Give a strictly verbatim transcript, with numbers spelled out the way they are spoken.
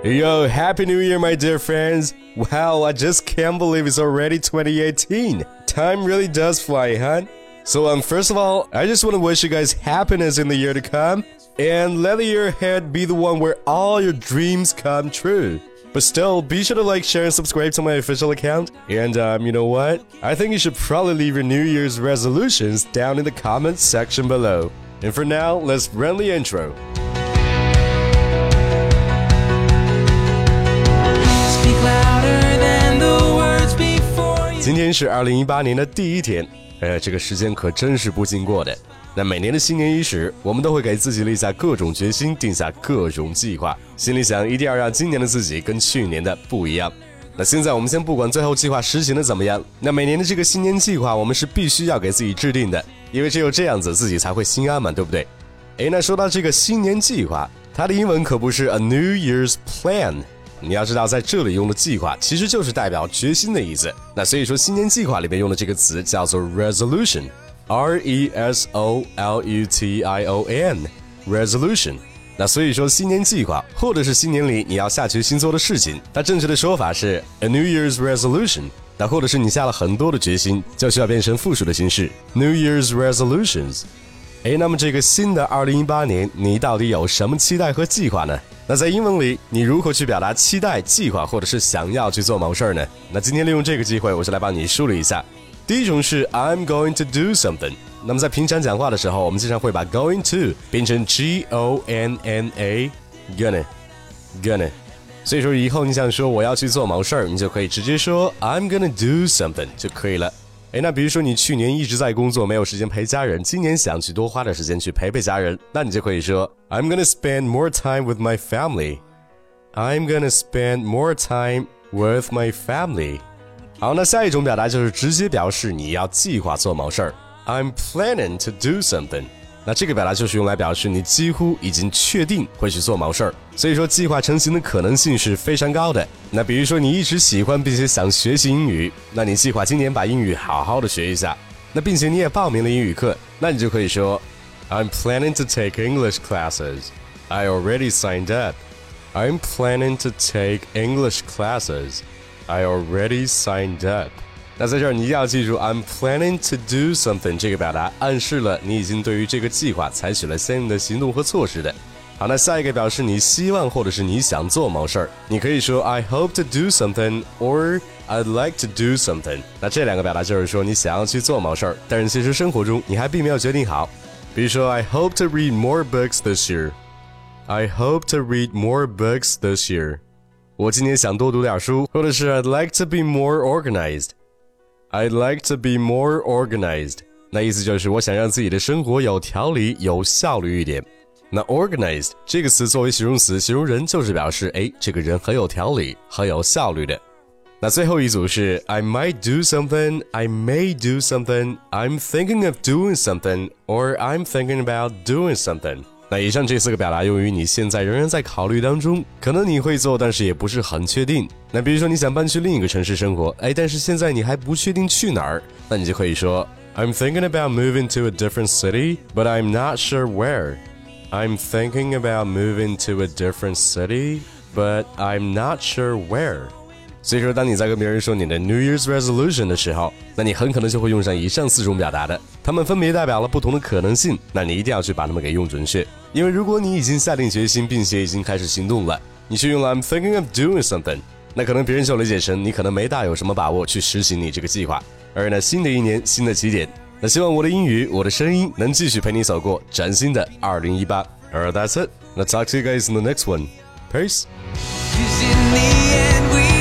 Yo, Happy New Year, my dear friends. Wow, I just can't believe it's already twenty eighteen. Time really does fly, huh? So um, first of all, I just want to wish you guys happiness in the year to come. And let the year ahead be the one where all your dreams come true. But still, be sure to like, share, and subscribe to my official account. And um, you know what? I think you should probably leave your New Year's resolutions down in the comments section below. And for now, let's run the intro. 今天是二零一八年的第一天，呃，这个时间可真是不经过的。那每年的新年伊始，我们都会给自己立下各种决心，定下各种计划，心里想一定要让今年的自己跟去年的不一样。那现在我们先不管最后计划实行的怎么样，那每年的这个新年计划我们是必须要给自己制定的，因为只有这样子自己才会心安嘛，对不对？诶，那说到这个新年计划，它的英文可不是 a New Year's Plan。你要知道在这里用的计划其实就是代表决心的意思，那所以说新年计划里面用的这个词叫做 resolution， R E S O L U T I O N resolution。 那所以说新年计划或者是新年里你要下决心做的事情，它正确的说法是 a New Year's resolution。 那或者是你下了很多的决心，就需要变成复数的形式 New Year's resolutions。 诶，那么这个新的二零一八年你到底有什么期待和计划呢？那在英文里你如何去表达期待、计划或者是想要去做某事儿呢？那今天利用这个机会我是来帮你梳理一下。第一种是 I'm going to do something。 那么在平常讲话的时候，我们经常会把 going to 变成 G O N N A gonna gonna， 所以说以后你想说我要去做某事儿，你就可以直接说 I'm gonna do something 就可以了。诶，那比如说你去年一直在工作，没有时间陪家人，今年想去多花点时间去陪陪家人，那你就可以说 I'm gonna spend more time with my family。 I'm gonna spend more time with my family。 好，那下一种表达就是直接表示你要计划做某事儿， I'm planning to do something。 那这个表达就是用来表示你几乎已经确定会去做某事儿，所以说计划成型的可能性是非常高的。那比如说你一直喜欢并且想学习英语，那你计划今年把英语好好的学一下，那并且你也报名了英语课，那你就可以说 I'm planning to take English classes. I already signed up. I'm planning to take English classes. I already signed up. 那在这儿你一定要记住 I'm planning to do something 这个表达暗示了你已经对于这个计划采取了相应的行动和措施的。好，那下一个表示你希望或者是你想做某事儿，你可以说 I hope to do something or I'd like to do something。 那这两个表达就是说你想要去做某事儿，但是其实生活中你还并没有决定好。比如说 I hope to read more books this year. I hope to read more books this year。 我今年想多读点书，或者是 I'd like to be more organized。I'd like to be more organized。 那意思就是我想让自己的生活有条理、有效率一点。那 organized 这个词作为形容词，形容人就是表示诶，这个人很有条理、很有效率的。那最后一组是 I might do something, I may do something, I'm thinking of doing something, or I'm thinking about doing something。 那以上这四个表达用于你现在仍然在考虑当中，可能你会做，但是也不是很确定。那比如说你想搬去另一个城市生活，哎，但是现在你还不确定去哪儿，那你就可以说 I'm thinking about moving to a different city, but I'm not sure where. I'm thinking about moving to a different city, but I'm not sure where. 所以说当你在跟别人说你的 New Year's Resolution 的时候，那你很可能就会用上以上四种表达的，它们分别代表了不同的可能性，那你一定要去把它们给用准确。因为如果你已经下定决心并且已经开始行动了，你去用了 I'm thinking of doing something， 那可能别人就理解成你可能没大有什么把握去实行你这个计划。而呢新的一年新的起点，那希望我的英语我的声音能继续陪你走过崭新的二零一八。 Alright, that's it. Let's talk to you guys in the next one. Peace.